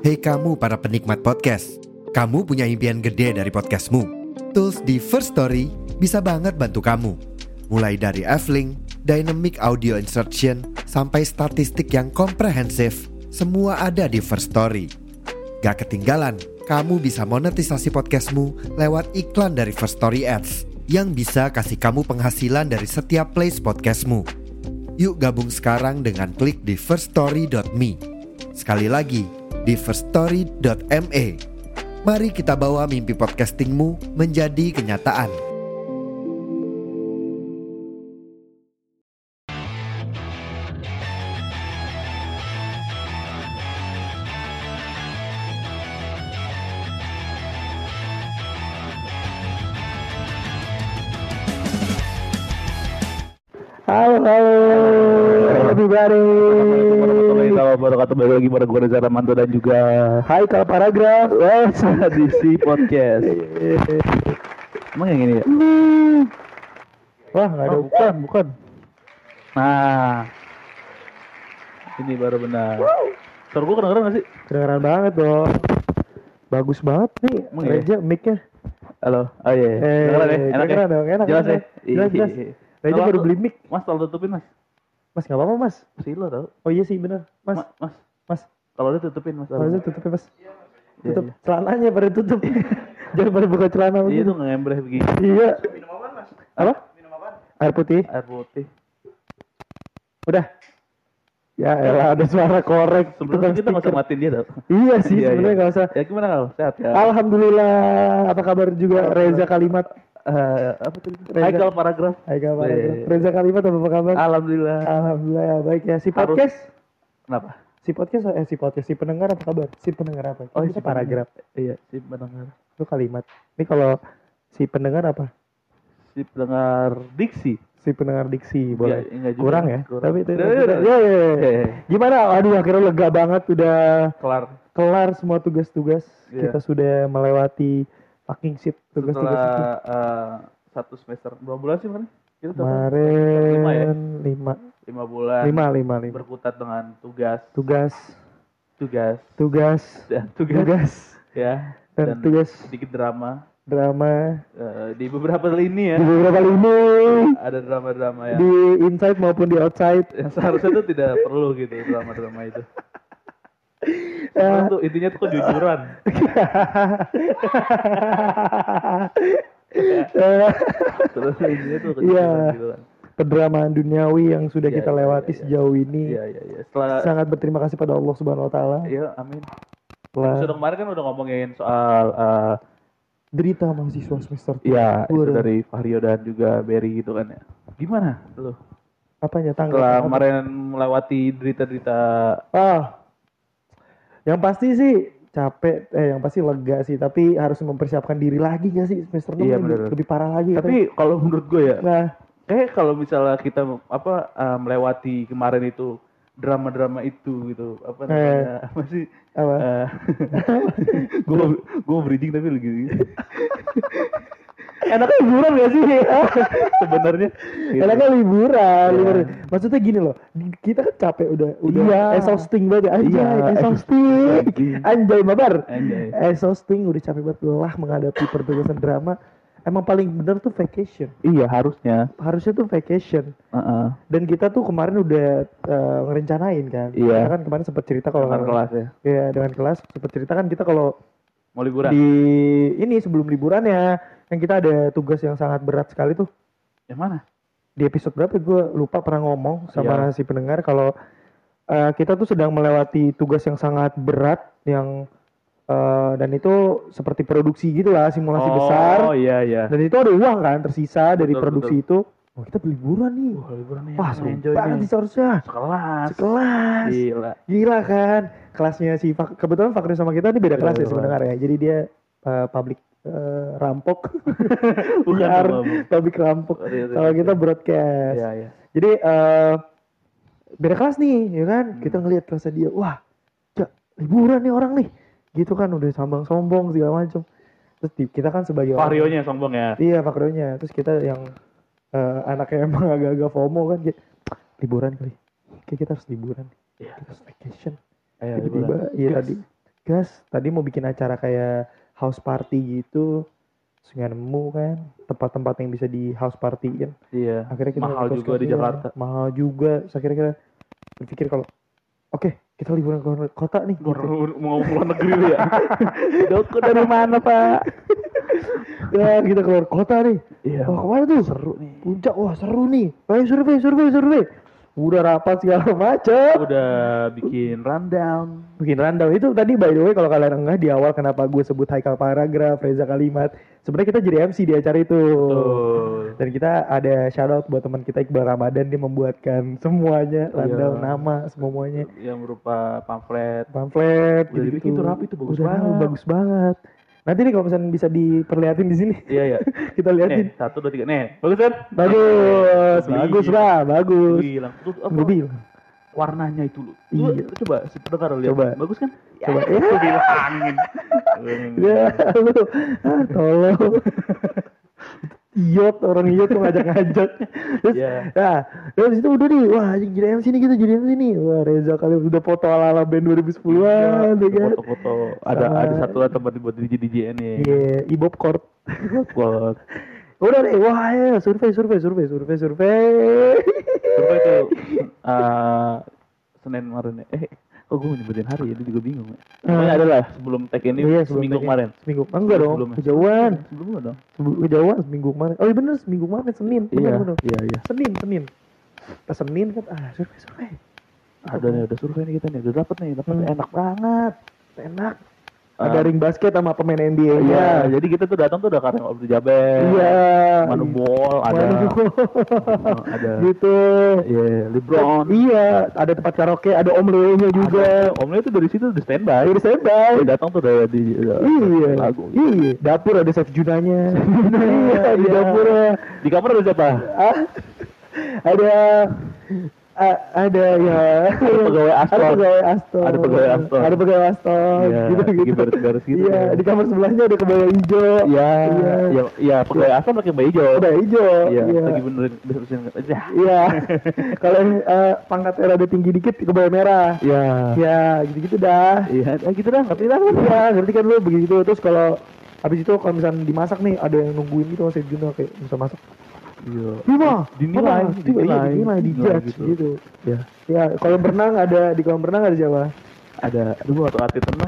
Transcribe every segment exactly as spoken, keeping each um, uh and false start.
Hei kamu para penikmat podcast, kamu punya impian gede dari podcastmu. Tools di First Story bisa banget bantu kamu. Mulai dari F-Link, Dynamic Audio Insertion, sampai statistik yang komprehensif, semua ada di First Story. Gak ketinggalan, kamu bisa monetisasi podcastmu lewat iklan dari First Story Ads yang bisa kasih kamu penghasilan dari setiap plays podcastmu. Yuk gabung sekarang dengan klik di first story dot me. Sekali lagi, di first story dot me. Mari kita bawa mimpi podcastingmu menjadi kenyataan. Halo, halo, everybody. Wabarakatuh, balik lagi pada gue Reza Ramanto dan juga Hai Kal Paragraf. Wes di si podcast. Emang yang ini ya? Wah, nggak ada. Oh, bukan, bukan. Nah, ini baru benar. Suara gue kedengeran nggak sih? Kedengeran banget dong. Bagus banget nih, Emang iya? Reja mic-nya. Halo, oh iya. iya. Eh, Kedengeran ya? Enak ya? kedengeran dong, enak. Jelas ya? enak. Jelas, jelas. Iya. Reja Kalau baru aku- beli mic. Mas, tolong tutupin mas. Mas, nggak apa-apa mas. Si lo tau? Oh iya sih bener, mas. Ma- mas, Mas, kalau dia tutupin mas. mas tutupin mas. Iya, Tutup iya. celananya pada tutup. Jangan pada buka celana Iya begitu. tuh ngembreh begini. Iya. Apa? Air putih. Air putih. Udah. Ya elah ada suara korek. Sebelumnya Tukang kita nggak usah stiker. matiin dia tau. Iya sih Iya, sebenarnya iya. nggak usah. Ya gimana kalau sehat ya? Alhamdulillah. Apa kabar juga Reza Kalimat? Eh, apa tadi? Reza. Haikal paragraf. Hai kabar. Iya. Reza Kalimat apa kabar? Alhamdulillah. Alhamdulillah ya, baik ya. Si Harus- podcast, Kenapa? si podcast eh si podcast, si pendengar apa kabar? Si pendengar apa? Oh, Kita si paragraf. Iya, si pendengar. Itu kalimat. Ini kalau si pendengar apa? Si pendengar diksi. Si pendengar diksi boleh. Enggak, enggak juga. Kurang ya? Kurang. Tapi itu Ya, ya, ya. ya, ya, ya. Ya, ya. Gimana? Aduh akhirnya lega banget udah Kelar. kelar semua tugas-tugas. Iya. Kita sudah melewati fucking shit tugas-tugas itu. Setelah eh, satu semester berapa bulan sih kemarin? Kita total lima ya? Kemarin lima, Lima bulan. lima, lima, lima. Berkutat dengan tugas, Tugas, tugas, tugas, dan tugas, tugas, ya, dan dan tugas sedikit drama drama Eh, di beberapa lini ya. di beberapa lini Ada drama-drama yang di inside maupun di outside. yang seharusnya tuh tidak perlu gitu drama-drama itu. Ya. Karena tuh intinya tuh kejujuran. Terus intinya tuh kejujuran Iya. gitu kan. Kedramaan duniawi yang sudah Iya, kita iya, lewati iya, iya. sejauh ini. Iya iya iya. Setelah Sangat berterima kasih pada Allah Subhanahu wa taala. iya amin. Setelah Episode kemarin kan udah ngomongin soal eh, derita mahasiswa semester iya itu Waduh. dari Fahrio dan juga Berry gitu kan ya. Gimana lu? apanya tanggal Setelah apa? kemarin melewati derita-derita Ah, yang pasti sih capek, eh yang pasti lega sih, tapi harus mempersiapkan diri lagi nggak sih semester enam Iya, ini bener. lebih, lebih parah lagi. tapi kalau menurut gue ya katanya. Nah, kayak kalau misalnya kita apa eh, melewati kemarin itu drama-drama itu gitu apa namanya apa sih apa? gue gue bridging tapi lagi Enaknya liburan gak sih? sebenarnya gitu. Enaknya liburan, Iya. liburan. Maksudnya gini loh, di- kita kan capek udah, udah Iya. exhausting banget. Anjay, Iya, exhausting. exhausting. Anjay, mabar. Anjay. Exhausting, udah capek banget lelah menghadapi pertugasan drama. Emang paling bener tuh vacation. Iya harusnya. Harusnya tuh vacation. Heeh. Dan kita tuh kemarin udah eh, ngerencanain kan. Iya. Kita kan kemarin sempat cerita kalau Dengan kelas ya. Iya, dengan kelas sempat cerita kan kita kalau Mau liburan. di ini sebelum liburannya kan kita ada tugas yang sangat berat sekali tuh. Yang mana? Di episode berapa gue lupa pernah ngomong sama Iya. si pendengar kalau eh, kita tuh sedang melewati tugas yang sangat berat yang eh, dan itu seperti produksi gitu lah, simulasi oh, besar. Oh iya iya. Dan itu ada uang kan tersisa dari Betul, produksi itu. Oh, kita liburan nih. Wah liburan nih. Wah, seru enjoy banget nih. sih seharusnya. Sekelas. Sekelas. Gila. Gila kan. Kelasnya si Fak- kebetulan Fakri sama kita ini beda Beda kelas ya kelas. sebenarnya ya. Jadi dia uh, public uh, rampok. Bukan Siar, sama, Bu. public rampok. Oh, iya, iya, Kalau iya. kita broadcast. Iya iya. Jadi uh, beda kelas nih, ya kan? Hmm. Kita ngelihat kelasnya dia, wah, ja, liburan nih orang nih. Gitu kan udah sambang sombong segala macam. Terus di- kita kan sebagai orang- Varionya sombong ya. Iya, Fakrionya. Terus kita yang eh, anaknya emang agak-agak FOMO kan, kayak, liburan kali. Kayak kita harus liburan. Iya. Kita harus vacation. Ayo Tiba-tiba, liburan. iya Gas. tadi. gas. Tadi mau bikin acara kayak house party gitu, terus nggak nemu kan tempat-tempat yang bisa di house partyin. Iya. Akhirnya kita Mahal ngekos juga ke di dia. Jakarta. Mahal juga. Terus akhirnya kita berpikir kalau oke kita liburan ke luar kota nih. Luar, Gitu. mau ngomong luar negeri lu ya. Doko dari mana pak? Ya kita keluar kota nih. Iya. Wah kemana tuh? Seru nih. Puncak, wah seru nih. Ayo survei, survei, survei. Udah rapat segala macam. Udah bikin rundown. Bikin rundown itu tadi by the way kalau kalian enggak di awal kenapa gue sebut Haikal Paragraf, Reza Kalimat. Sebenarnya kita jadi M C di acara itu. Betul. Dan kita ada shout out buat teman kita Iqbal Ramadan, dia membuatkan semuanya, rundown Iya. nama semuanya, Yang berupa pamflet. pamflet Udah dibikin gitu. tuh rapi tuh, bagus Udah, banget. bagus banget. Nanti nih kalau misalnya bisa diperlihatin di sini, Iya ya. kita liatin. Nih satu dua tiga nih. Bagus kan? Bagus, Gila. bagus lah, bagus. Bilang tuh apa? Gue bilang. Warnanya itu lu. Iya. Lu coba sebentar lihat. Coba. Bagus kan? Coba. Ya, Ya. gua bilangin. Ya, lu, ah, tolong. Iot, orang iot tuh ngajak-ngajak. Terus, Iya. nah, terus itu udah nih, wah anjing jadi M C nih kita jadi M C nih. Wah Reza kali udah foto ala-ala band dua ribu sepuluhan, ya kan? Foto-foto. Ada Sama- ada satu tempat buat D J D J nih. Iya, Ibop Court. Buat Udah deh, wah ya, survei, survei, survei, survei, survei. survei itu eh, Senin kemarin ya. Eh, kok gue nyebutin hari ya, dia juga bingung ya. Pokoknya ada lah sebelum tag ini Iya, sebelum seminggu tag ini. kemarin. Seminggu, enggak dong, Sebelumnya. kejauhan. Sebelumnya dong. Sebelum kejauhan seminggu kemarin. Oh iya bener, seminggu kemarin Senin. Bener, Iya, bener. iya, iya. Senin, Senin. Pas Senin kan, ah survei, survei. Ada nih, udah survei nih kita nih, udah dapet nih, dapet Hmm. enak banget. Enak. Ah. Ada ring basket sama pemain N B A-nya. Iya, jadi kita tuh datang tuh udah Karim Abdul Jaber, Iya. Manu Bol, ada, Manu Bol. Oh, ada, Gitu. iya, LeBron, Iya, ada tempat karaoke, ada Om Leo-nya juga. ada. Om Leo tuh dari situ udah standby, Udah standby. dia datang tuh udah di udah Iya. lagu. Iya, dapur ada Chef Junanya. Iya, di Iya. dapur. Di kamar ada siapa? Ah, ada a- ada ya pegawai Aston. ada pegawai Aston Ada pegawai Aston. ada pegawai Aston Iya, gitu lagi gitu beres-beres gitu. iya di kamar sebelahnya ada kebaya hijau Iya, iya iya, iya, pegawai Aston pakai baju hijau. kebaya hijau Iya, iya lagi benerin beresin aja. iya kalau yang eh, pangkatnya rada tinggi dikit kebaya merah Iya. ya gitu gitu dah Iya, eh, gitu dah, ngerti dah. iya ngerti kan lu begitu terus kalau habis itu kalau misalnya dimasak nih ada yang nungguin gitu saya Juno kayak bisa masak Iya. Lima, Dinilai, apa? Dinilai, dinilai, dinilai, di dinilai judge gitu. gitu. Ya, Ya, kolam renang ada di kolam renang ada siapa? ada, aduh gua atau hati tenang.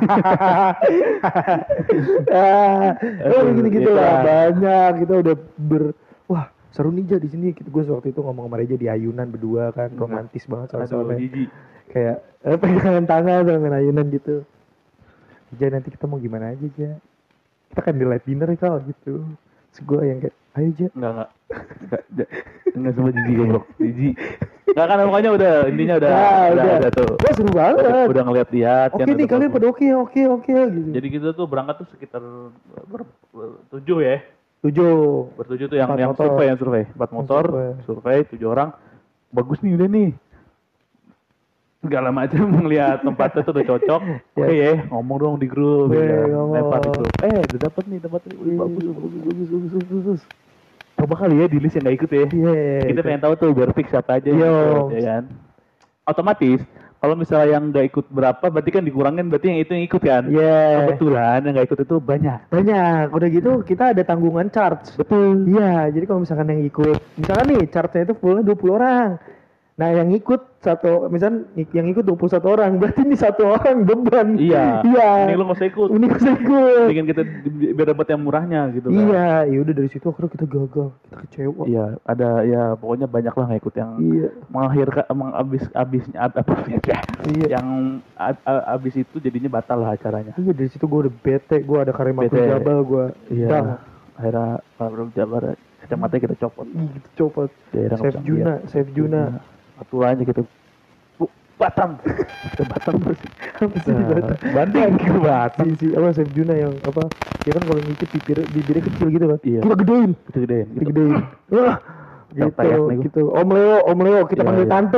ah, oh Aduh, gitu-gitu gitu lah lah. banyak kita udah ber wah seru nih Ja di sini gue waktu itu ngomong sama Reja di ayunan berdua kan romantis banget Aduh, soalnya jijik. kayak eh, pegangan tangan dengan ayunan gitu Ja nanti kita mau gimana aja Ja kita kan di light dinner ya kalau gitu terus gue yang kayak ayo Ja Enggak, enggak. Enggak, enggak, enggak sama jijik goblok. Jijik. Enggak kan pokoknya udah intinya udah Nah, udah, udah. udah tuh. wah seru Udah, banget udah ngeliat-liat oke kan, nih udah kalian bagus. pada oke oke oke gitu Jadi kita tuh berangkat tuh sekitar ber- bertujuh ya. tujuh Bertujuh tuh yang Empat yang motor. survei, yang survei. Empat motor, survei. survei tujuh orang. Bagus nih udah nih. Segala macam ngeliat tempatnya tuh udah cocok. Oke ya, ngomong dong di grup. Iya, ya. ngomong. Lempar di grup. Eh, udah dapet nih tempatnya. Wih, Iya, bagus, bagus, bagus, bagus, bagus, bagus, bagus. Coba kali ya di list yang gak ikut ya. iya Kita pengen tahu tuh biar fix siapa aja yang Yo. ikut, ya kan. Otomatis kalau misalnya yang gak ikut berapa berarti kan dikurangin berarti yang itu yang ikut kan. iya Kebetulan yang gak ikut itu banyak. banyak udah gitu kita ada tanggungan charge Betul. iya jadi kalau misalkan yang ikut misalkan nih charge-nya itu fullnya dua puluh orang nah yang ikut satu misalkan yang ikut dua puluh satu orang berarti ini satu orang beban Iya. iya Ini lu gak usah ikut. ini bisa ikut Bikin kita di- biar dapat yang murahnya gitu kan. iya ya udah dari situ akhirnya kita gagal kita kecewa Iya, ada ya pokoknya banyak lah nggak ikut yang iya mengakhirkan emang abis abisnya ab- apa ya, iya yang ab- ab- abis itu jadinya batal lah acaranya. iya dari situ gue udah bete gue ada Karim Abdul Bete. Jabal gue Iya. Akhirnya Pak Jabar kacamatanya kita copot. gitu copot Daerah Chef Juna Chef Juna Aturannya gitu. Bu, Batam. Kita Batam terus. apa sih di Nah, Batam? banding ke Batam. si, si apa Chef Juna yang apa dia kan kalau ngikut bibir bibirnya kecil gitu kan Iya. kita gedein Kita gedein kita gitu. gedein wah Yang gitu tayak nih gua. gitu Om Leo Om Leo kita Iya, panggil iya. tante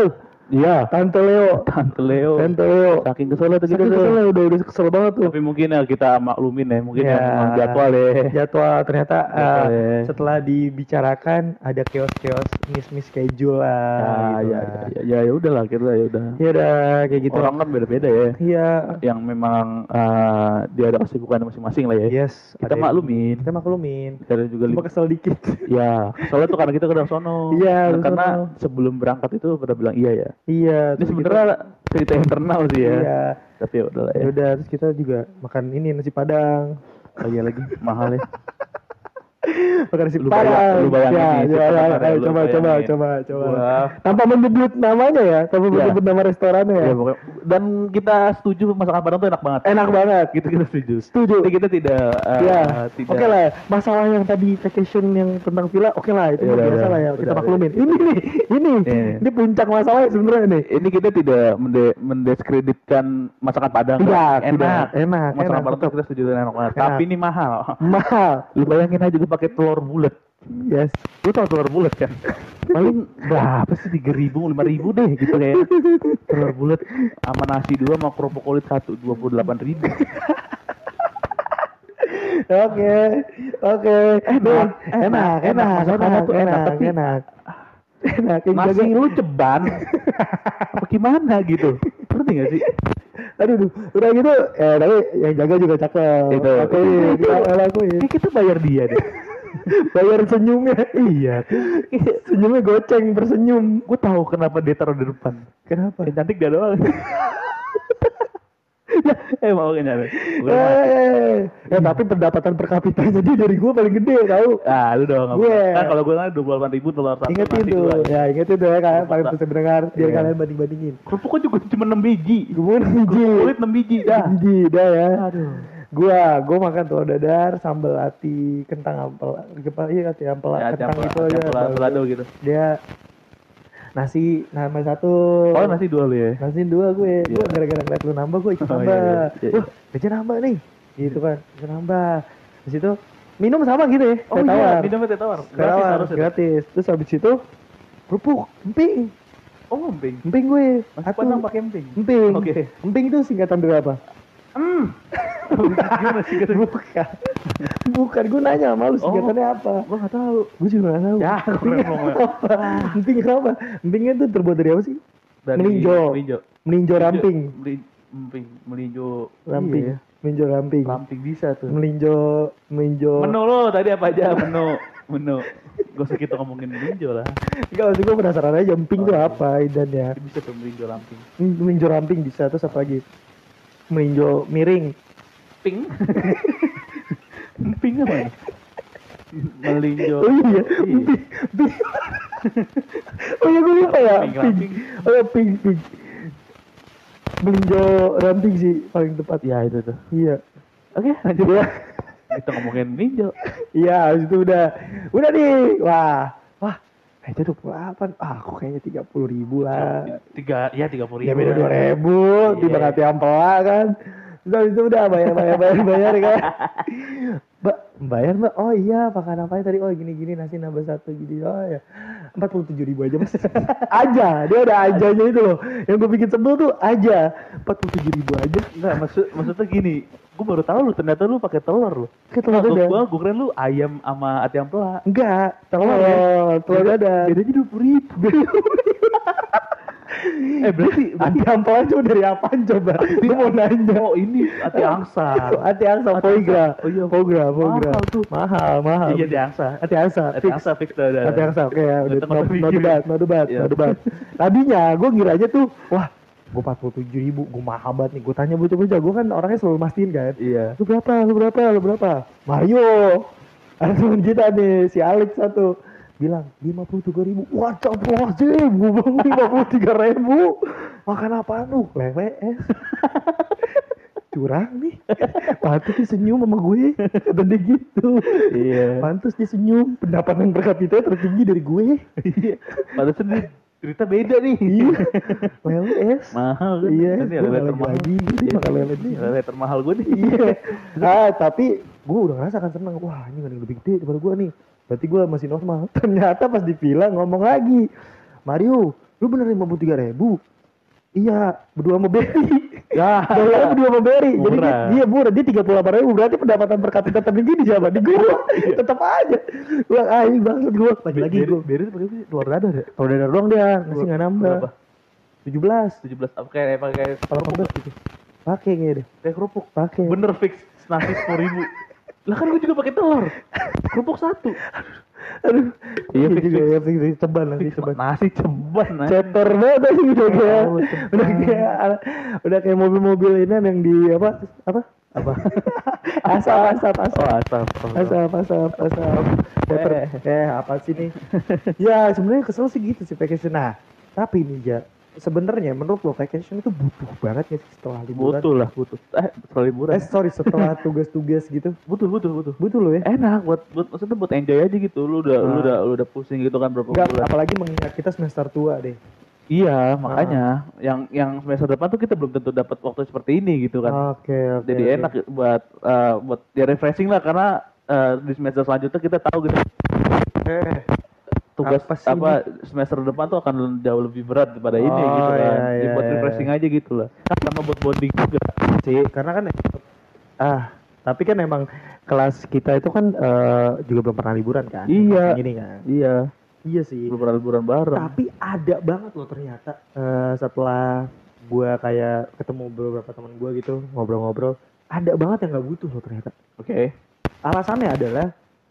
Iya, Tante Leo. Tante Leo. Tante Leo. Saking kesel tuh kita Saking tuh. kesel udah udah kesel banget tuh. Tapi mungkin ya kita maklumin ya, mungkin Ya. yang memang jadwal ya. Jadwal ternyata Jadwal uh, ya. setelah dibicarakan ada chaos-chaos miss-miss schedule lah. Ya, gitu ya, lah. ya, ya, ya udahlah kita ya udah. Ya udah kayak gitu. Orang kan beda-beda ya. Iya. Yang memang uh, dia ada kesibukan masing-masing lah ya. Yes. Kita ada- maklumin. Kita maklumin. Kita juga Cuma li- kesel dikit. ya, soalnya tuh karena kita ke sono. Iya, Nah, ke karena sono. sebelum berangkat itu pada bilang iya ya. Iya. Ini terus sebenarnya cerita internal sih kita- ya. Iya. Tapi ya udahlah Ya ya. udah terus kita juga makan ini nasi padang. Oh iya lagi mahal ya. Makan nasi Lu padang. bayang- lu bayangin ya, nih, ya, si ya, pendengar ya, ayo, lu coba, coba, bayangin. coba, coba. Gua- Tanpa menyebut namanya ya, tanpa Iya. menyebut nama restorannya ya. Ya, pokoknya. Dan kita setuju masakan Padang tuh enak banget. Enak banget. Gitu kita setuju. Setuju. Jadi kita tidak uh, Ya, tidak oke lah. Masalah yang tadi vacation yang tentang villa, oke lah itu Ya, mah udah, biasa udah. lah ya. Kita Udah, maklumin. Ini nih, ini, Iya. ini puncak masalahnya sebenarnya nih. Ini kita tidak mende- mendiskreditkan masakan Padang. Tidak, enak. tidak. Enak, Masakan enak, Padang tuh tetap. kita setuju enak banget. Enak. Tapi ini mahal. Mahal. Lu bayangin aja gue pakai telur bulat. Yes. Lu tau telur bulat kan? Paling berapa sih? tiga ribu, lima ribu deh gitu kayak. Telur bulat sama nasi dua sama kerupuk kulit satu, dua puluh delapan ribu. Oke, oke. Enak, enak, enak, enak, masakannya enak, tuh enak, enak, tapi- enak. Enak, yang Nasi jaga- lu ceban. Apa gimana gitu? Ngerti gak sih? Aduh, duh, udah gitu, eh tapi yang jaga juga cakep. Itu. Lakuin, kita lakuin. Kayak kita bayar dia deh. Bayar senyumnya. Iya. Senyumnya goceng, bersenyum. Gue tahu kenapa dia taruh di depan. Kenapa? Yang cantik dia doang. Ya, eh mau kayaknya. Eh, ya tapi pendapatan per kapitanya dia dari gua paling gede tahu. Ah, lu dong. Gue. Kan kalau gue kan dua puluh delapan ribu telur satu. Ingetin nasi tuh, dua. ya ingetin tuh ya kan, paling bisa mendengar biar Iya. kalian banding-bandingin. Kerupuknya juga cuma enam biji. Gua enam biji, Kulit enam biji dah. biji dah ya. Aduh. Gua, gua makan telur dadar, sambal ati, kentang ampel, apa iya ati ampel, Ya, kentang campur, gitu aja. campur balado gitu. Dia nasi nambah satu. Oh, nasi dua lu ya. Nasi dua gue, gue Iya. gara-gara ngeliat lu nambah gue ikut Oh, nambah. iya, iya, iya. Wah, gaji nambah nih, gitu kan, gaji nambah. Di situ minum sama gitu ya, Oh teh iya, tawar, minum teh tawar. teh Gratis tawar, harus itu. gratis. Terus habis itu kerupuk, emping, Oh, emping. emping gue, Masih Atu, Padang pakai emping. emping. Oke. Emping itu singkatan dari apa? Hmm. Gimana sih kata? Bukan, bukan. Gue nanya sama lu singkatannya apa? Gua enggak tahu. Gue juga nggak tahu. Ya, Emping keren banget. apa? Emping apa? Empingnya tuh terbuat dari apa sih? Dari Melinjo. Melinjo. Melinjo ramping. Meli- Emping, melinjo Ramping. Iya, ya. Melinjo ramping. Ramping bisa tuh. Melinjo, melinjo. Menu lo tadi apa aja menu? Menu. Gak usah kita ngomongin melinjo lah. Enggak, maksud gue penasaran aja emping Oh, tuh iya. apa idannya. Bisa tuh melinjo ramping. Melinjo ramping bisa, terus apa lagi? Melinjo miring. Ping. Ping apa? nih? Melinjo. Oh iya, Iya. emping. Emping. Oh iya gue lupa ya. Ping, Ping. ramping. Oh iya, ping, ping. Melinjo ramping sih paling tepat. Ya itu tuh. Iya. Oke, lanjut ya. Kita ngomongin melinjo. Iya, habis itu udah. Udah nih. Wah. Wah. Kayaknya dua puluh delapan. Ah, aku kayaknya tiga puluh ribu lah. Tiga, ya tiga puluh ribu. Ya beda dua ribu, Iya. tiba hati ampela kan. Terus habis itu udah bayar bayar bayar bayar kan. Mbak, bayar mbak, oh iya makan apa tadi, oh gini gini nasi nambah satu gini, oh ya empat puluh tujuh ribu aja mas. Aja, dia ada ajanya itu loh. Yang gue bikin sebel tuh aja, empat puluh tujuh ribu aja. Enggak, maksud maksudnya gini. Gue baru tahu lu ternyata lu pakai telur lu. Kayak telur Gua- dadar. Gua gua keren lu ayam sama ati ampela. Enggak, telur, Telur telur dadar. Bedanya dua puluh ribu. Eh berarti Hati ampela cuma dari apaan coba? Gue mau nanya. Oh ini ati angsa. Hati angsa, Hati foie angsa. Oh iya, foie foie mahal tuh. Mahal, mahal. Iya di angsa. Hati angsa, Ati fix. angsa fix dah. dah. Hati angsa, oke ya, udah Nggak no, tengok no mikir. debat, no debat, Iya. no debat. Tadinya gue ngira aja tuh, wah gue empat puluh tujuh ribu, gue mahal banget nih. Gue tanya bocah-bocah, gue kan orangnya selalu mastiin kan. Iya. Lu berapa, lu berapa, lu berapa? Mario, ada temen kita nih, si Alex satu. Bilang, lima puluh tiga ribu. Wah, capek sih, gue bilang lima puluh tiga ribu. Makan apaan lu? Lele es. Curang nih. Pantes dia senyum sama gue. Kata dia gitu. Iya. Pantes dia senyum. Pendapatan per kapita tertinggi dari gue. Iya. Padahal dia cerita beda nih. Iya. Lele es. Mahal kan? Iya, Ini gue lele lagi termahal. lagi. Jadi Iya. makan lele nih. Lele termahal gue nih. Iya. Ah, tapi gue udah ngerasa kan seneng. Wah, ini gak ada yang lebih gede daripada gue nih. Berarti gue masih normal. Ternyata pas di villa ngomong lagi. Mario, Lu bener lima puluh tiga ribu? Iya, berdua sama Berry. Ya, Bayarnya berdua sama Berry. Jadi dia, Murah. dia murah, dia tiga puluh delapan ribu. Berarti pendapatan per kapita tertinggi di siapa? Di gua. Tetap aja. Gua ah ini bangsat gua. Lagi-lagi Beri gua. Beri itu pakai luar radar ya? Kalau dadar doang dia, nasi enggak nambah. Berapa? tujuh belas. tujuh belas apa kayak pakai delapan belas gitu. Pakai kayaknya deh. kayak kerupuk. Pakai. Bener fix nasi sepuluh ribu. Lah kan gue juga pakai telur. Kerupuk satu. Aduh. Iya, Iya fix, juga fix. ya, fix, fix. Ceban nasi ceban. Nasi ceban. nasi. Cetor banget aja udah kayak Oh, ceban. udah kayak udah kayak mobil-mobil ini yang di apa apa Apa? asap asap asap Oh, asap. Oh. asap asap asap Cetor. Eh. eh apa sih nih ya sebenarnya kesel sih gitu sih vacation. Nah tapi nih ja sebenarnya menurut lo vacation itu butuh banget ya sih setelah liburan? Butuh lah, butuh. Eh, setelah liburan. Eh sorry setelah tugas-tugas gitu butuh, butuh, butuh. butuh lo ya. Enak buat buat maksudnya buat enjoy aja gitu. Lu udah lu Ah. udah lu udah pusing gitu kan berapa Enggak, bulan. apalagi mengingat kita semester tua deh. Iya, makanya yang yang semester depan tuh kita belum tentu dapat waktu seperti ini gitu kan. Oke oke. Jadi oke. enak buat eh, buat ya refreshing lah karena eh, di semester selanjutnya kita tahu gitu Eh, tugas Apa apa, sih semester depan tuh akan jauh lebih berat daripada ini Oh, gitu kan. iya, Jadi iya, buat iya. refreshing aja gitu lah. Sama buat bonding juga. sih karena kan ah tapi kan emang kelas kita itu kan eh, juga belum pernah liburan kan. Iya. Ini kan. Iya, Iya sih. belum pernah liburan bareng. Tapi ada banget loh ternyata eh, setelah gua kayak ketemu beberapa teman gua gitu ngobrol-ngobrol, ada banget yang nggak butuh loh ternyata. Oke. Alasannya adalah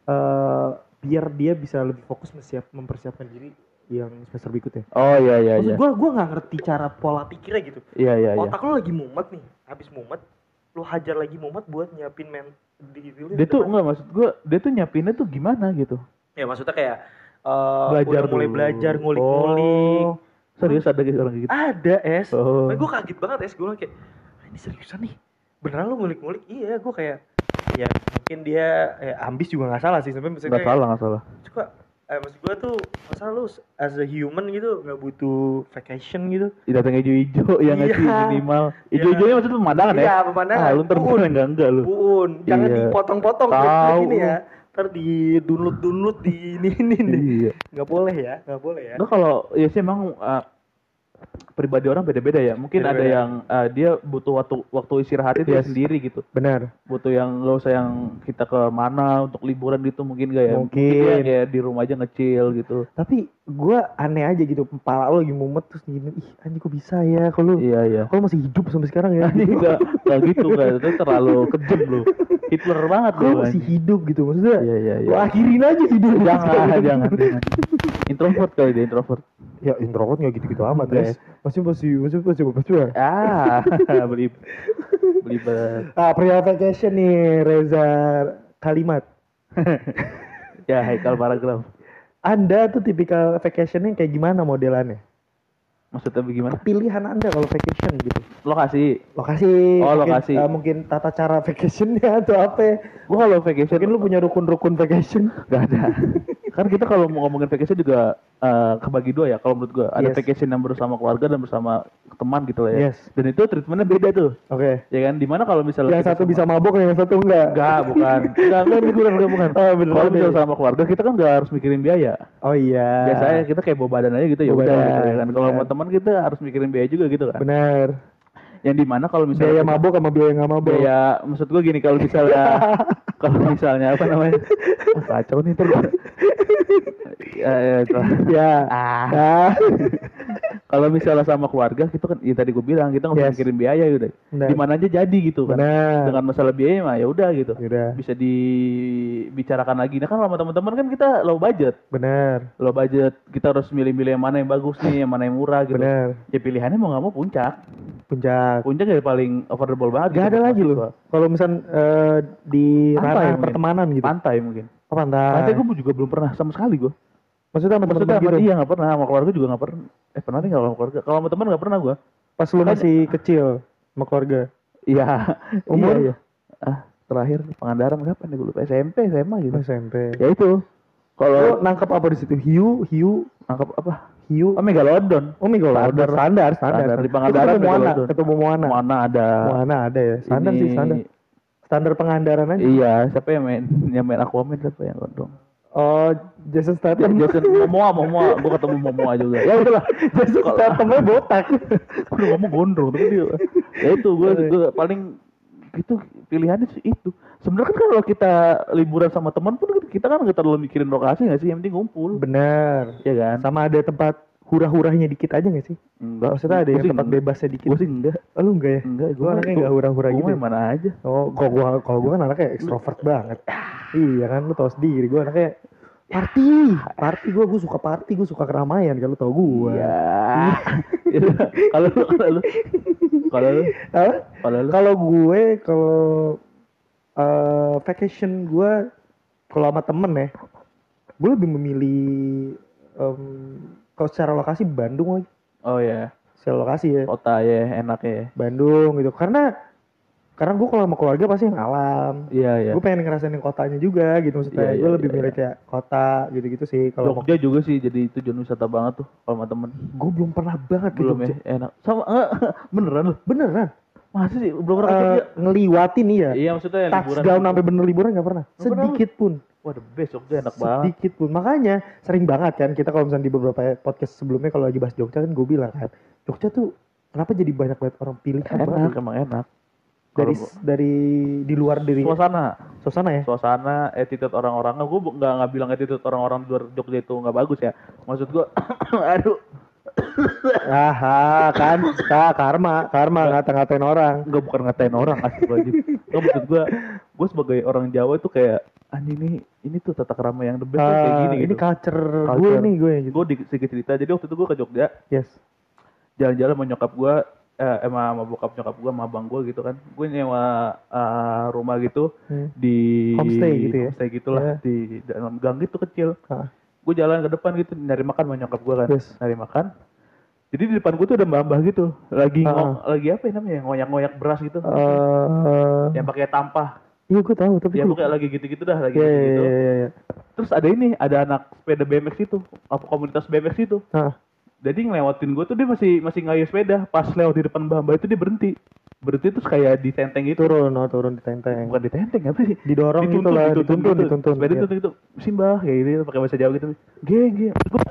eh biar dia bisa lebih fokus mensiap, mempersiapkan diri yang semester berikutnya. Oh iya iya Maksud iya. gua gua nggak ngerti cara pola pikirnya gitu. Iya iya iya. Otak lo lagi mumet nih, habis mumet, lo hajar lagi mumet buat nyiapin men di diri Dia tuh enggak maksud gua, dia tuh nyiapinnya tuh gimana gitu. ya maksudnya kayak eh, Belajar udah mulai dulu. belajar ngulik-ngulik. Oh, serius ada gitu orang kayak gitu. Ada es. Oh. Gue kaget banget es, gue kayak "Ah, ini seriusan nih. Beneran lo ngulik-ngulik? Iya, gue kayak ya mungkin dia eh, ambis juga nggak salah sih sebenarnya. Maksudnya Enggak kayak, salah, enggak salah. Coba eh, maksud gue tuh masa lu as a human gitu nggak butuh vacation gitu. Datang hijau-hijau ya nggak sih Iya. minimal. Iya. Hijau-hijaunya maksudnya pemandangan ya? Iya, pemandangan. Ah, lu ntar Uun. enggak enggak lu. Buun, jangan Iya. dipotong-potong Tahu. kayak gini ya. Ntar di download-download di ini ini nih. Iya. Nggak boleh ya, nggak boleh ya. Enggak kalau ya sih emang uh, pribadi orang beda-beda ya. Mungkin ada Beda-beda. yang uh, dia butuh waktu waktu istirahat itu Yes. sendiri gitu. Benar. Butuh yang nggak usah yang kita ke mana untuk liburan gitu mungkin gak ya? Mungkin. dia kayak di rumah aja ngecil gitu. Tapi gue aneh aja gitu, kepala lo lagi mumet terus gini, ih anjing kok bisa ya kalau Iya iya. kalau masih hidup sampai sekarang ya. Ini enggak enggak gitu kan. Itu terlalu kejam lu. Hitler banget lu. Kalau masih hidup gitu maksudnya. Iya iya iya. Lo akhirin aja hidup. Jangan, jangan, jangan. Introvert kali dia, introvert. Ya introvert nggak gitu-gitu amat Enggak guys. Masih masih masih masih masih. masih. Ah, beli beli ber. Ah pria vacation nih Reza Kalimat. Ya, Haikal paragraf. Anda tuh tipikal vacationnya kayak gimana modelannya? Maksudnya bagaimana? Pilihan Anda kalau vacation gitu. Lokasi. Lokasi. Oh, mungkin, lokasi. eh, mungkin tata cara vacationnya atau apa? Gua kalau vacation Mungkin lu punya rukun-rukun vacation. gak ada. Kan kita kalau mau ngomongin vacation juga eh, kebagi dua ya kalau menurut gua. Ada Yes. vacation yang bersama keluarga dan bersama teman gitu lah ya. Yes. Dan itu treatmentnya beda tuh. Oke. Ya kan? Dimana kalau misalnya Yang kita satu sama- bisa mabok, yang satu enggak. Enggak, bukan. Enggak, enggak, ini bukan, bukan, bukan. Oh, beneran Kalau deh. misalnya sama keluarga kita kan enggak harus mikirin biaya. Oh iya. Biasanya kita kayak bawa badan aja gitu ya Bawa udah badan, gitu ya kan. Kalau benar. sama teman kita harus mikirin biaya juga gitu kan. Benar. Yang dimana kalau misalnya Biaya kita- mabok sama biaya nggak mabok. biaya maksud gua gini kalau misalnya kalau misalnya apa namanya ah, kacau nih terus ya, ya, itu. Ya. ah Ah. kalau misalnya sama keluarga kita kan ya tadi gua bilang kita nggak usah Yes. mikirin biaya udah Benar. di mana aja jadi gitu kan Benar. dengan masalah biaya mah ya udah gitu Yaudah. bisa dibicarakan lagi nah kan sama teman-teman kan kita low budget Benar. low budget kita harus milih-milih yang mana yang bagus nih yang mana yang murah gitu Benar. ya pilihannya mau nggak mau puncak Puncak. puncak ya paling affordable banget Gak gitu ada buat lagi mahasiswa. loh. Kalau misal eh, di Pantai ranah mungkin. pertemanan gitu. Pantai mungkin. Oh, pantai. Pantai gue juga belum pernah sama sekali gue. Maksudnya sama Maksudnya teman-teman sama gitu. iya nggak pernah, sama keluarga juga nggak pernah. Eh pernah nih nggak sama keluarga? Kalau sama teman nggak pernah gue. Pas lu masih kecil sama keluarga. Iya. Umur? Iya, iya. Ah terakhir Pangandaran kapan nih gue lupa S M P, S M A gitu. S M P. Ya itu. Lu Kalau nangkep apa di situ? Hiu, hiu, nangkap apa? hiu. Oh Megalodon. Oh, Megalodon. Standar, standar. Standar. Di Itu Pangandaran ketemu Moana, Megalodon. ketemu Moana. Mana ada? Moana ada ya. Standar Ini- sih, standar. Standar Pangandaran aja. Iya, siapa yang main yang main Aquaman siapa yang gondrong? Oh, Jason Statham. Jason Momoa, Momoa, gue ketemu Momoa juga. Ya udahlah, Jason Stathamnya botak. udah ngomong gondrong tapi dia. Ya itu gue, gue paling itu pilihannya sih itu. Sebenarnya kan kalau kita liburan sama teman pun kita kan nggak terlalu mikirin lokasi nggak sih, yang penting ngumpul. Bener. Ya kan? Sama ada tempat hura-huranya dikit aja nggak sih? Enggak. Maksudnya ada Gua yang sih tempat enggak. bebasnya dikit. Gue sih enggak. Oh, lu enggak ya? Enggak, Gue anaknya enggak hura-hura gitu. Gue ya? mana aja. Oh, kalau gua kalau gua kan anaknya ekstrovert banget. Iya kan, lu tau sendiri. Gue anaknya party, party gue, gue suka party, gue suka keramaian. Kalau tau gue. Iya. Kalau lu, kalau lu, kalau lu, Apa? kalau lu, Kalau gue, kalau eh, vacation gue, kalau sama temen ya, gue lebih memilih em, kalau secara lokasi Bandung lagi. oh ya, Secara lokasi ya, kota ya, enak ya. Bandung gitu. Karena karena gue kalau sama keluarga pasti yang alam. Iya iya. Gue pengen ngerasain yang kotanya juga gitu maksudnya. Iya, gue iya, lebih iya, milih kayak kota gitu-gitu sih. Kalau mau, Jogja juga sih, jadi itu zona wisata banget tuh kalau sama temen. gue belum pernah banget ke Belum Jogja. ya, enak. Sama enggak, beneran lu? Beneran. Masa sih belum pernah ke Eh, Jogja? ngeliwatin iya. Iya maksudnya yang liburan. Touchdown gitu. sampai bener liburan gak pernah. Nggak pernah lu? Sedikit pun. Wah the best, Jogja enak banget. Sedikit pun. Makanya sering banget kan kita kalau misalnya di beberapa podcast sebelumnya kalau lagi bahas Jogja kan gue bilang kan. Jogja tuh kenapa jadi banyak banget orang pilihan Enak, banget. emang enak. Dari Kalau dari di luar dari suasana, suasana ya. suasana, attitude orang-orangnya, gue nggak nggak bilang attitude orang-orang di luar Jogja itu nggak bagus ya. Maksud gue, aduh, Aha, kan, ka, karma, karma ngata-ngatain orang. nggak bukan ngatain orang asli aja. Nggak maksud gue, gue sebagai orang Jawa itu kayak anjing nih, ini tuh tata krama yang the best tuh kayak Ah, gini ini gitu. culture, gue Culture. nih gue gitu. Gue di sedikit cerita, jadi waktu itu gue ke Jogja, Yes. jalan-jalan sama nyokap gue, eh sama, sama bokap nyokap gue, sama abang gue gitu kan. Gue nyewa eh, rumah gitu Hmm. di Homestay gitu ya? homestay gitulah Ya. di dalam gang gitu kecil. Ah. Gue jalan ke depan gitu nyari makan sama nyokap gue kan, Yes. nyari makan. Jadi di depan gue tuh ada mbah-mbah gitu, lagi Ah. ngo- lagi apa ya namanya, ngoyak-ngoyak beras gitu, Eh, yang pakai tampah. iya gue tahu tapi Ya gue. pokoknya lagi gitu-gitu dah, lagi Iya, iya, gitu-gitu. iya, iya, iya. Terus ada ini, ada anak sepeda B M X itu, apa komunitas B M X itu. Ah. Jadi ngelewatin gue tuh dia masih masih ngayuh sepeda, pas lewat di depan mbah-mbah itu dia berhenti. Berhenti terus kayak ditenteng gitu. Turun, oh, turun di tenteng. Bukan ditenteng apa sih? Didorong gitu lah, dituntun, dituntun. Sepeda Iya. dituntun gitu. Simbah kayak gitu pakai bahasa Jawa gitu. Geng, geng. Maksud gue,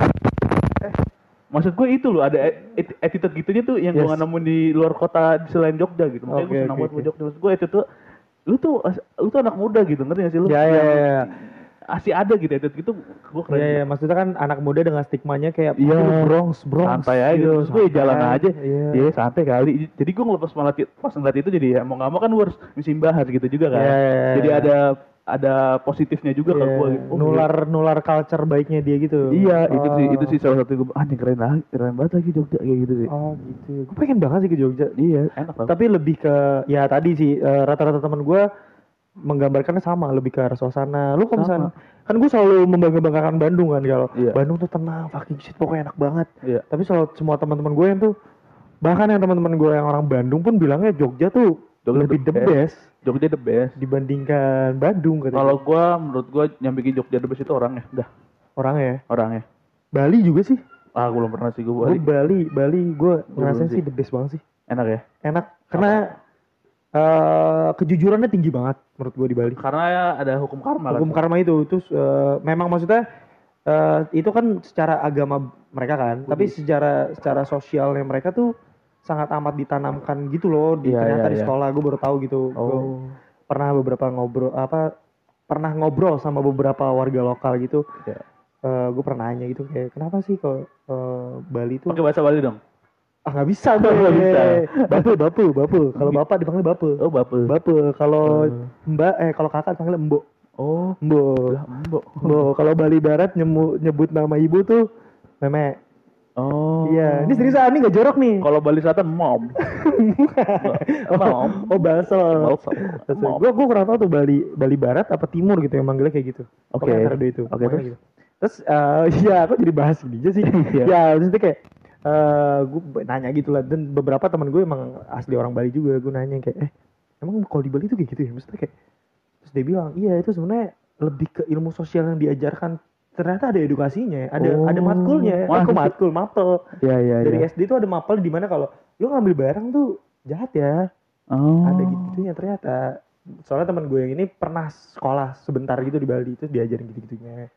eh, maksud gue itu loh, ada et- attitude gitunya tuh yang gue Yes. gak nemuin di luar kota di selain Jogja gitu. Makanya gue Oke, senang oke, banget sama oke. Jogja. Maksud gue itu tuh lu tuh lu tuh anak muda gitu, ngerti gak sih lu? Ya, ya, Yang ya. Masih ada gitu attitude gitu, gue keren. Iya, iya, maksudnya kan anak muda dengan stigmanya kayak Iya. "Aduh, Bronx, Bronx. Santai aja gitu. Terus gue ya jalan santai. aja. Iya. Iya, santai kali. Jadi gue ngelepas malah ti- pas ngeliat itu jadi ya mau gak mau kan gue harus misimbahas gitu juga kan. Iya, iya, iya. Jadi ada ada positifnya juga Iya, ke gue gitu. Oh, nular nular culture baiknya dia gitu. Iya, itu sih Oh. itu sih salah satu gue anjing keren lagi, keren banget lagi Jogja kayak gitu sih. Oh gitu. Gue pengen banget sih ke Jogja. Iya, enak banget. Tapi lebih ke ya tadi sih eh, rata-rata teman gue menggambarkannya sama, lebih ke arah suasana. Lu kalau misalnya kan gue selalu membangga-banggakan Bandung kan kalau Iya. Bandung tuh tenang, fucking shit, pokoknya enak banget. Iya. Tapi selalu semua teman-teman gue yang tuh bahkan yang teman-teman gue yang orang Bandung pun bilangnya Jogja tuh Jogja lebih the the best Jogja the best. dibandingkan Bandung katanya. Kalau gue menurut gue yang bikin Jogja the best itu orangnya, dah orangnya ya. orangnya. Bali juga sih. Ah, gue belum pernah sih gue Gue balik. Bali, Bali gue belum ngerasain sih. sih the best banget sih. Enak ya. Enak karena eh, kejujurannya tinggi banget menurut gue di Bali. Karena ada hukum karma kan. Hukum karma itu terus eh, memang maksudnya eh, itu kan secara agama mereka kan, tapi secara secara sosialnya mereka tuh sangat amat ditanamkan gitu loh di Iya, ternyata iya, di iya. sekolah. Gue baru tahu gitu. Gua Oh. pernah beberapa ngobrol apa pernah ngobrol sama beberapa warga lokal gitu. Iya. Eh, gue pernah nanya gitu kayak kenapa sih kalau eh, Bali tuh Pakai bahasa Bali dong. ah nggak bisa gue Nggak bisa. bapu bapu bapu kalau bapak dipanggil bapu Oh, bapak. bapu kalau Hmm. mbak eh kalau kakak dipanggil mbok Oh, mbok lah mbok. mbok kalau Bali Barat nyemu, nyebut nama ibu tuh meme. Oh. Iya, ini seriusan, ini gak jorok nih. Kalau Bali Selatan mom. Mom. Oh, Balsel. Balsel. Mom. Gue gue kurang tahu tuh Bali Bali Barat apa Timur gitu yang manggilnya kayak gitu. Oke. Pokoknya antara dua itu. Oke, Pokoknya terus? gitu. Terus eh ya aku jadi bahas gini aja sih. Iya. Ya, maksudnya kayak eh gue nanya gitu lah, dan beberapa teman gue emang asli orang Bali juga. Gue nanya kayak eh emang kalau di Bali tuh kayak gitu ya? Maksudnya kayak terus dia bilang, "Iya, itu sebenarnya lebih ke ilmu sosial yang diajarkan." Ternyata ada edukasinya, ada Oh. ada matkulnya. Wah, Aku itu- matkul, mapel. Iya, iya, Dari iya. S D tuh ada mapel di mana kalau lu ngambil barang tuh jahat ya. Oh. Ada gitu-gitunya ternyata. Soalnya teman gue yang ini pernah sekolah sebentar gitu di Bali, itu diajarin gitu-gitunya.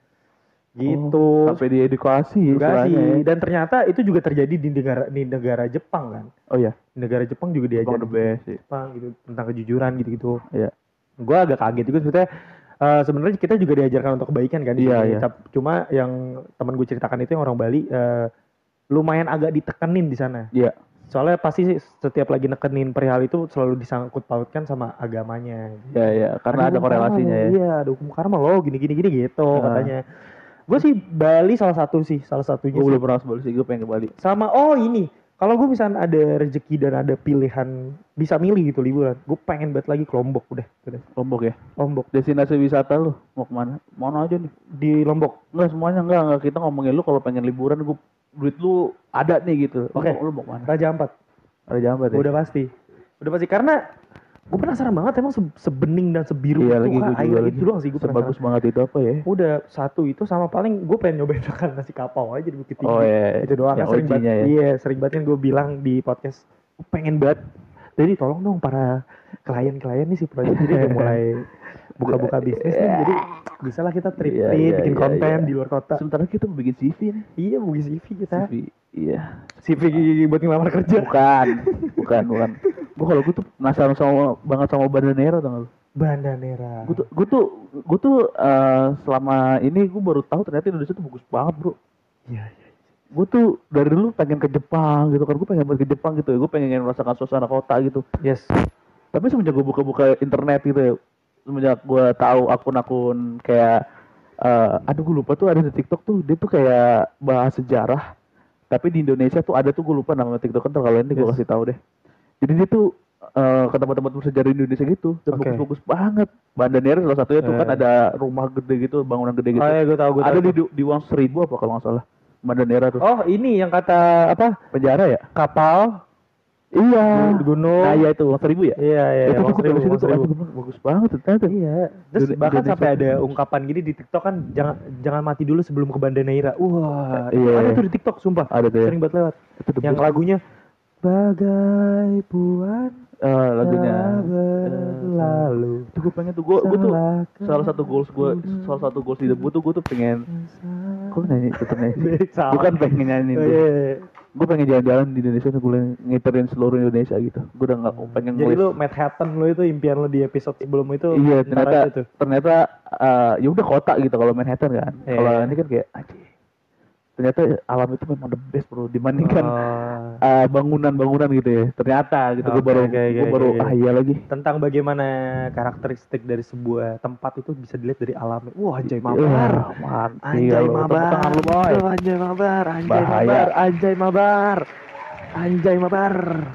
Gitu. Oh, sampai diedukasi Edukasi. istilahnya ya. Dan ternyata itu juga terjadi di negara di negara Jepang kan. Oh iya, Di negara Jepang juga Jepang diajarin the best sih. Jepang gitu tentang kejujuran gitu-gitu. Iya. Gue agak kaget juga sebetulnya. Uh, sebenarnya kita juga diajarkan untuk kebaikan kan. Iya, sini. iya. Cuma yang teman gue ceritakan itu yang orang Bali uh, lumayan agak ditekenin di sana. Iya. Soalnya pasti setiap lagi nekenin perihal itu selalu disangkut pautkan sama agamanya. Iya, iya, karena ada, hukum korelasinya karma, ya. Iya, ada hukum karma loh, gini-gini gini gitu Uh. katanya. Gue sih Bali salah satu sih, salah satunya. Gue sih. belum pernah ke Bali sih, gue pengen ke Bali. Sama oh ini, kalau gue misalnya ada rezeki dan ada pilihan bisa milih gitu liburan, gue pengen banget lagi ke Lombok udah, udah. Lombok ya. Lombok. Destinasi wisata lu mau kemana? Mana aja nih? Di Lombok. Enggak semuanya enggak, enggak. Kita ngomongin lu kalau pengen liburan, gue duit lu ada nih gitu. Oke. Lu, lu mau kemana? Raja Ampat. Raja Ampat ya? Udah pasti. Udah pasti karena gue penasaran banget emang se- sebening dan sebiru Iya, itu lagi, kah? gua Air juga itu lagi. doang sih gue penasaran. Sebagus banget itu apa ya? Udah satu itu sama paling gue pengen nyobain makan nasi kapau aja di Bukit Tinggi. Oh iya, Itu doang yang kan sering O G-nya banget. ya. Iya, sering banget kan gue bilang di podcast. Gue pengen banget. Jadi tolong dong para klien-klien nih si Project jadi udah mulai buka-buka bisnis nih. Jadi bisa lah kita trip-trip, Iya, iya, bikin iya, konten iya. di luar kota. Sementara kita mau bikin C V nih. Iya, bukan C V kita. C V, iya. C V buat ngelamar kerja. Bukan, bukan, bukan. Gue kalau gue tuh penasaran sama banget sama Bandanera tau gak lu? Bandanera. Gue tuh, gue tuh, gue tuh uh, selama ini gue baru tahu ternyata Indonesia tuh bagus banget bro. Iya, iya. Gue tuh dari dulu pengen ke Jepang gitu kan, gue pengen banget ke Jepang gitu, gue pengen merasakan suasana kota gitu. Yes. Tapi semenjak gue buka-buka internet gitu ya, semenjak gue tahu akun-akun kayak, uh, aduh gue lupa tuh ada di TikTok tuh, dia tuh kayak bahas sejarah. Tapi di Indonesia tuh ada tuh gue lupa nama TikTok kan, kalau ini gue Yes. kasih tahu deh. Jadi dia tuh uh, ke tempat-tempat bersejarah Indonesia gitu, dan Oke. bagus-bagus banget. Bandanera salah satunya tuh Eh. kan ada rumah gede gitu, bangunan gede gitu. Oh iya, gue tahu, gue tahu. Ada di di Uang Seribu apa kalau nggak salah. Bandanera tuh. Oh, ini yang kata apa? Penjara ya? Kapal Iya. di gunung. Nah, iya itu Uang Seribu ya? Iya, iya, itu Uang tuh Seribu, dari situ Uang tuh, Seribu. aduh, bagus banget ternyata. Iya. Terus Indonesia. bahkan sampai ada ungkapan gini di TikTok kan, jangan jangan mati dulu sebelum ke Bandanera. Wah, Iya. ada tuh di TikTok sumpah. Ada tuh ya. Sering banget lewat. Itu the Yang best. lagunya Bagai Puan Eh, lagunya telah berlalu. itu gue pengen tuh gue gue tuh Salahkan salah satu goals gue salah satu goals hidup gue tuh gue tuh pengen kok nyanyi tetep nyanyi Salah. bukan pengen nyanyi Oh, tuh iya, iya. gue pengen jalan-jalan di Indonesia tuh gue ngiterin seluruh Indonesia gitu gue udah nggak pengen Jadi ngelis lu Manhattan lu itu impian lu di episode sebelum itu. iya ntar ternyata aja tuh. ternyata eh, ya udah kota gitu kalau Manhattan kan Iya. kalau ini kan kayak anjing ternyata alam itu memang the best bro dibandingkan Oh. eh, bangunan-bangunan gitu ya ternyata gitu gue Oke, baru oke, gue oke, baru oke. ah iya lagi Tentang bagaimana karakteristik dari sebuah tempat itu bisa dilihat dari alamnya. Wah, anjay Wah, mabar. mantap. Anjay Iya, lu. mabar. Tepuk tangan lu, boy. Oh, anjay mabar, anjay Bahaya. mabar, anjay mabar. Anjay mabar.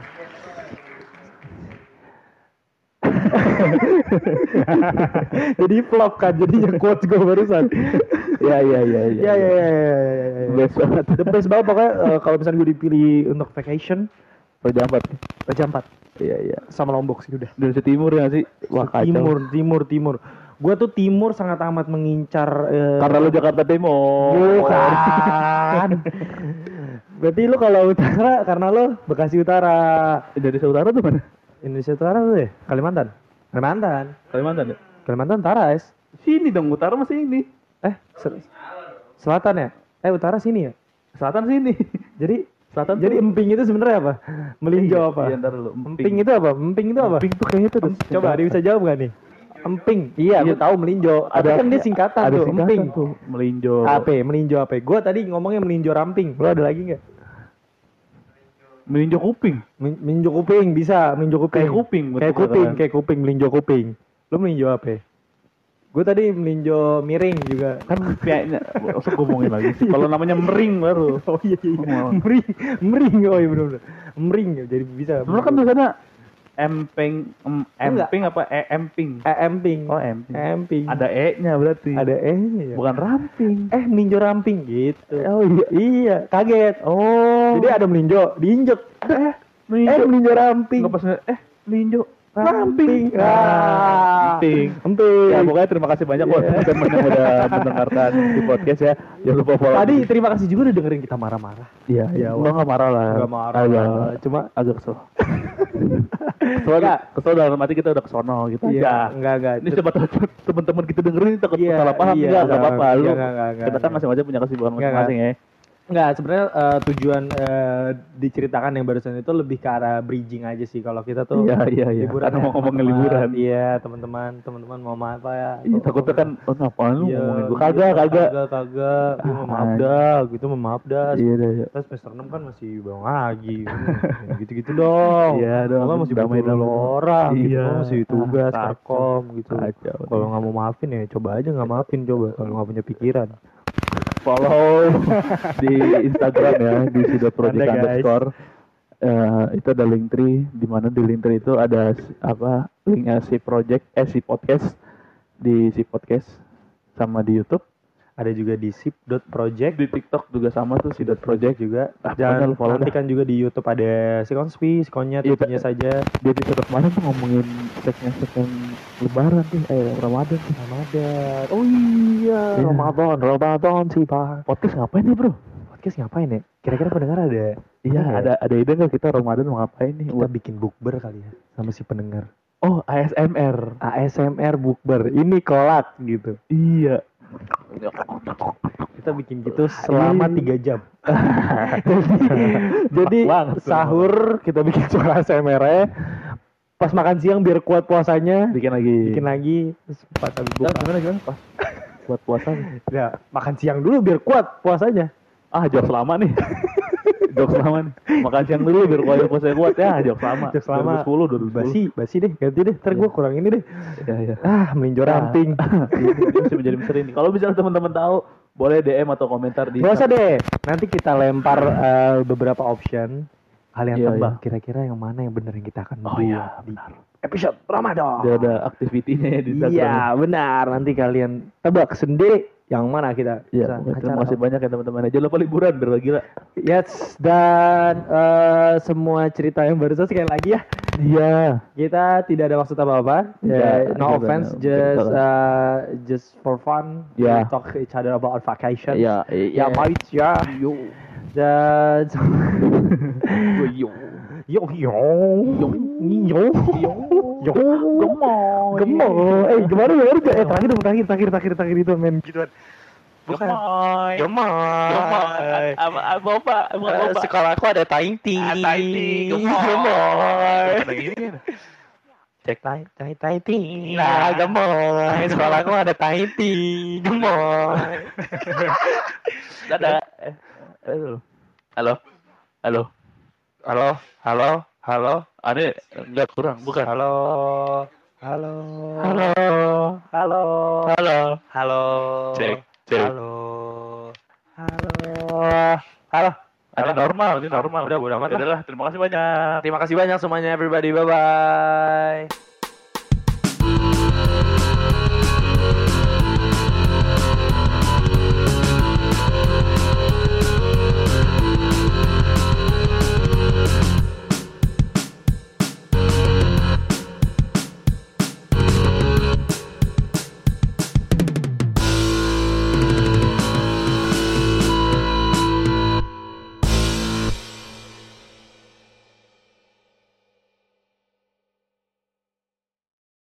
Jadi flop kan, jadi yang quotes gue barusan. Ya ya ya ya. Ya ya ya ya, ya, ya. Best banget. The best banget pokoknya eh, kalau misalnya gue dipilih untuk vacation, Raja Ampat. Raja Ampat Iya iya. sama Lombok sih udah. Indonesia Timur ya sih. Wah kacau. Timur, timur, timur. Gue tuh timur sangat amat mengincar. eh, Karena lu Jakarta Timur. Bukan. Berarti lu kalau utara karena lu Bekasi Utara. Indonesia Utara tuh mana? Indonesia Utara tuh ya? Kalimantan. Kalimantan. Kalimantan ya? Kalimantan Utara, es. Sini dong, utara masih ini. Eh, sel- selatan ya? Eh, utara sini ya? Selatan sini. Jadi Selatan jadi tuh- emping itu sebenarnya apa? Melinjo Iya, apa? iya, ntar dulu. Emping. Emping. itu apa? Emping itu apa? Emping tuh kayaknya tuh. Em- Coba dia bisa jawab gak nih? Emping. Iya, Iya. gue tahu melinjo. Ada kan dia singkatan ada tuh, singkatan emping. tuh. Melinjo. Apa? Melinjo apa? Gue tadi ngomongnya melinjo ramping. Lo ada lagi nggak? Melinjo kuping. Men- Melinjo kuping bisa, melinjo kuping. Kayak kuping, betul Kayak kuping, kan? kayak kuping, melinjo kuping. Lo melinjo apa? Gue tadi melinjo miring juga. Kan kayaknya usah ngomongin lagi sih. Kalau namanya mering baru. Oh iya iya. Oh. Mering, mering. Oh iya benar-benar. Mering jadi bisa. Sebenarnya kan tulisannya emping, em, Enggak. emping apa e emping? eh, emping. Oh emping. Emping. Ada e-nya berarti. ada eh-nya ya. Bukan ramping. Eh melinjo ramping gitu. Oh iya. Iya, kaget. Oh. Jadi ada melinjo, diinjek. Eh, melinjo. eh melinjo ramping. Nggak pas eh melinjo. Ramping. Ah, emping. Emping. Ya pokoknya terima kasih banyak buat Yeah. teman-teman yang udah mendengarkan di podcast ya. Jangan lupa follow. Tadi terima kasih juga udah dengerin kita marah-marah. Iya, Ya, ya, enggak marah lah. Enggak marah. Agak, Cuma agak kesel. kesel enggak? Kesel dalam arti kita udah kesono gitu iya, aja. enggak enggak. Ini siapa tahu teman-teman kita dengerin takut Iya, salah paham iya, enggak, enggak enggak, apa-apa lu. iya, enggak, enggak, Kita kan enggak. masing-masing punya kesibukan Enggak, masing-masing ya. Enggak, sebenarnya eh, tujuan eh, diceritakan yang barusan itu lebih ke arah bridging aja sih. Kalau kita tuh Iya, iya, iya. liburan Karena ya, mau ngomongin teman-teman. liburan. Iya, teman-teman, teman-teman mau ma- apa ya? Iya, Kok- takutnya kan oh ngapain lu Iya, ngomongin gua iya, kagak, kagak. Kagak, kagak. Gua mau maaf Ah, dah, gitu mau maaf dah. Iya, iya, iya. Kita semester enam kan masih bang lagi. Hmm, gitu-gitu dong. Iya dong, Kalau masih damai damai dong. orang, gitu. Iya. Kalau masih tugas, Ah, kacau. perkom gitu. Kacau. Kalau nggak mau maafin ya coba aja nggak maafin coba. Kalau nggak punya pikiran. Follow di Instagram ya di sidotproject Ada, guys. underscore. Eh, itu ada link tree di mana di link tree itu ada s- apa linknya si project eh si podcast di si podcast sama di YouTube. Ada juga di sip.project. Di TikTok juga sama tuh si dot project juga. Ah, pokoknya Dan lu follow nanti dah. kan juga di YouTube ada si Konspi, si Konyet, Iya, punya saja. Di episode kemarin tuh ngomongin segmen-segmen lebaran tuh eh Ramadan tuh. Ramadan. Oh iya, Iya. Ramadan, Ramadan sih Pak. Podcast ngapain nih bro? Podcast ngapain ya? Kira-kira pendengar ada? Iya apa ya? ada ada ide nggak kita Ramadan mau ngapain nih? Kita Buat- bikin bukber kali ya sama si pendengar. Oh A S M R. A S M R bukber. Ini kolak gitu. Iya. Kita bikin gitu selama Iya. tiga jam. Jadi Enak banget tuh. sahur kita bikin suara A S M R-nya. Pas makan siang biar kuat puasanya. Bikin lagi. Bikin lagi. Terus pas habis Nah, buka. gimana gimana pas buat puasa nih? Ya, makan siang dulu biar kuat puasanya. Ah jokes lama nih. Jokes lama nih. Makan siang dulu biar kuat puasa kuat ya jokes lama. Jokes lama. dua ribu sepuluh dua ribu sepuluh. Basi, basi deh, ganti deh. Ntar gue kurang ini deh. Ya ya. Ah, melinjor ramping. Ini ini masih menjadi misteri nih. Kalau misalnya teman-teman tahu boleh D M atau komentar di Gak usah deh. Nanti kita lempar eh, beberapa option. Kalian Iya, tebak kira-kira yang mana yang benar yang kita akan Oh buat iya, di benar. episode Ramadan. Dia ada aktivitinya ya di Instagram. Iya, benar. Nanti kalian tebak sendiri yang mana kita Iya, bisa terima acara. kasih banyak ya teman-teman. Jangan lupa liburan biar lagi gila. Yes, dan eh, semua cerita yang barusan sekali lagi ya. Iya. Kita tidak ada maksud apa-apa. Iya, Ya, no juga. offense, Betul. just uh, just for fun. Iya. We talk each other about vacation. Iya, Ya, mate ya. Yo. Dan Yo. yo yo yo yo yo yo Gemoy. gemoy. Eh, gimana gimana? Eh, terakhir dong, terakhir terakhir terakhir terakhir itu men gituan. Bukan. Gemoy. Gemoy. Gemoy. Apa apa apa apa Eh, apa. sekolahku ada taing ting. Ah, taing ting. Gemoy. Gemoy. Bukan yang ini kan? Cek tai tai tai ting. Nah, gemoy. Sekolahku ada taing ting. Gemoy. Dadah. Eh, Halo. Halo. Halo. Halo, halo, halo, Ane enggak kurang, bukan. halo, halo, Halo. halo, Halo. halo, Cek, cek. halo, halo, halo. Ini normal, ini normal. Udah, bodo amat lah. Udah lah, terima kasih banyak. Terima kasih banyak semuanya, everybody. Bye bye.